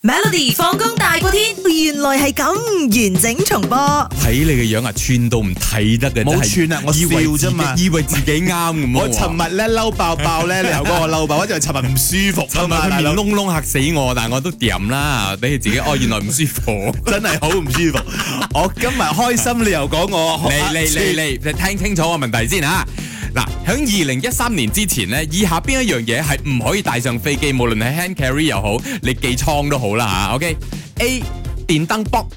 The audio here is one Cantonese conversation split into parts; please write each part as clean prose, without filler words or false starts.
Melody 放工大過天，原來係咁完整重播。 睇你嘅樣啊，串到唔睇得嘅， 冇串啊，我笑啫嘛， 以為自己啱咁。 我尋日咧嬲爆爆咧，你又講我嬲爆，我就係尋日唔舒服啊嘛， 佢面窿窿嚇死我，但係我都掂啦，俾佢自己原來唔舒服， 真係好唔舒服。我今日開心，你又講我嚟，聽清楚個問題先嚇。嗱，喺2013年之前咧，以下邊一樣嘢係唔可以帶上飛機，無論係 hand carry 又好，你寄倉都好啦嚇。OK，A 電燈卜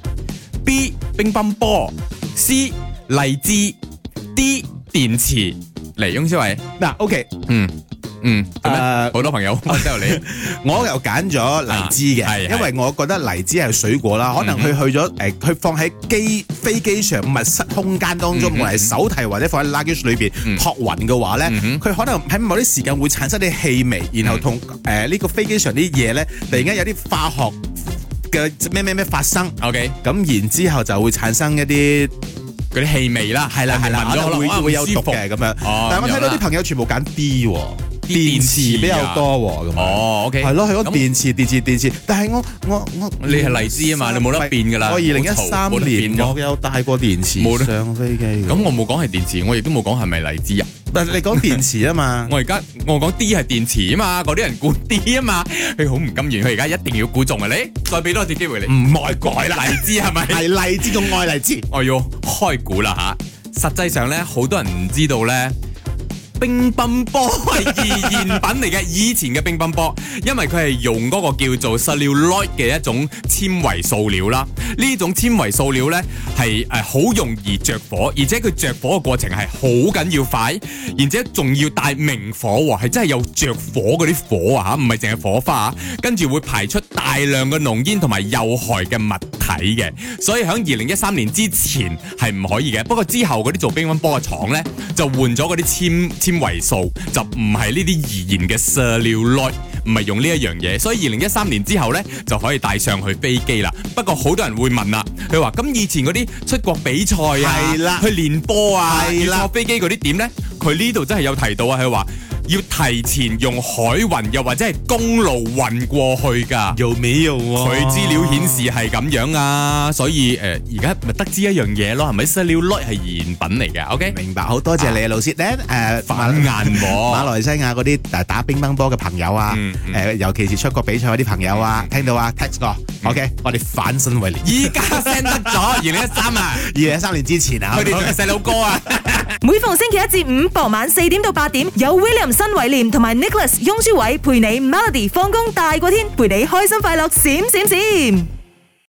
，B 乒乓波，C 荔枝，D 電池。嚟，翁小偉嗱，OK， 好多朋友都有你， 我又揀咗荔枝嘅，因為我覺得荔枝係水果啦，可能佢去咗佢放喺飛機上密室空間當中，無論係手提或者放喺 luggage 裏邊託運嘅話咧，佢可能喺某啲時間會產生啲氣味，然後同呢個飛機上啲嘢咧，突然間有啲化學嘅咩發生，OK，咁然之後就會產生一啲嗰啲氣味啦，係啦，可能會有毒嘅咁樣。但係我睇到啲朋友全部揀 D 喎，電池比較多喎，咁 OK， 係咯，係講電池。但係我你係荔枝啊嘛，你冇得變㗎啦。 我2013年我有帶過電池上飛機。 咁我冇講係電池，我亦都冇講係咪荔枝啊。 但係你講電池啊嘛， 我講 D 係電池啊嘛，嗰啲人估 D 啊嘛，佢好唔甘願，佢而家一定要估中啊！你再俾多次機會你， 唔愛改啦， 荔枝係咪？ 係荔枝，仲愛荔枝。 我要開估啦嚇！實際上咧，好多人唔知道咧。乒乓波係易燃品嚟嘅，以前嘅乒乓波，因為佢係用嗰個叫做 celluloid 嘅一種纖維塑料啦。呢種纖維塑料呢係好容易着火，而且佢着火嘅過程係好緊要快，而且仲要帶明火喎，係真係有着火嗰啲火啊嚇，唔係淨係火花啊，跟住會排出大量嘅濃煙同埋有害嘅物體嘅，所以喺2013年之前係唔可以嘅。不過之後嗰啲做乒乓波嘅廠呢，就換咗嗰啲纖維素，就唔係呢啲易燃嘅 celluloid， 唔係用呢一樣嘢，所以2013年之後呢，就可以帶上去飛機啦。不過好多人會問啦，佢話咁以前嗰啲出國比賽啊，去練波啊，要坐飛機嗰啲點呢？佢呢度真係有提到啊，佢話要提前用海運又或者係公路運過去㗎， 有沒有啊？ 佢資料顯示係咁樣啊，所以而家咪得知一樣嘢咯，係咪？celluloid係易燃品嚟嘅 ，OK？ 明白，好多謝你啊，老師咧反眼馬來西亞嗰啲打乒乓波嘅朋友啊，尤其是出國比賽嗰啲朋友啊，聽到啊 text 我 ，OK？ 我哋反身為廉， 依家 send 得咗2013啊 ，2013年之前啊， 佢哋仲係細佬哥啊！ 每逢星期一至五傍晚4點到8點，有 William 新偉廉同埋 Nicholas 雍舒偉陪你 Melody 放工大過天，陪你開心快樂閃閃閃。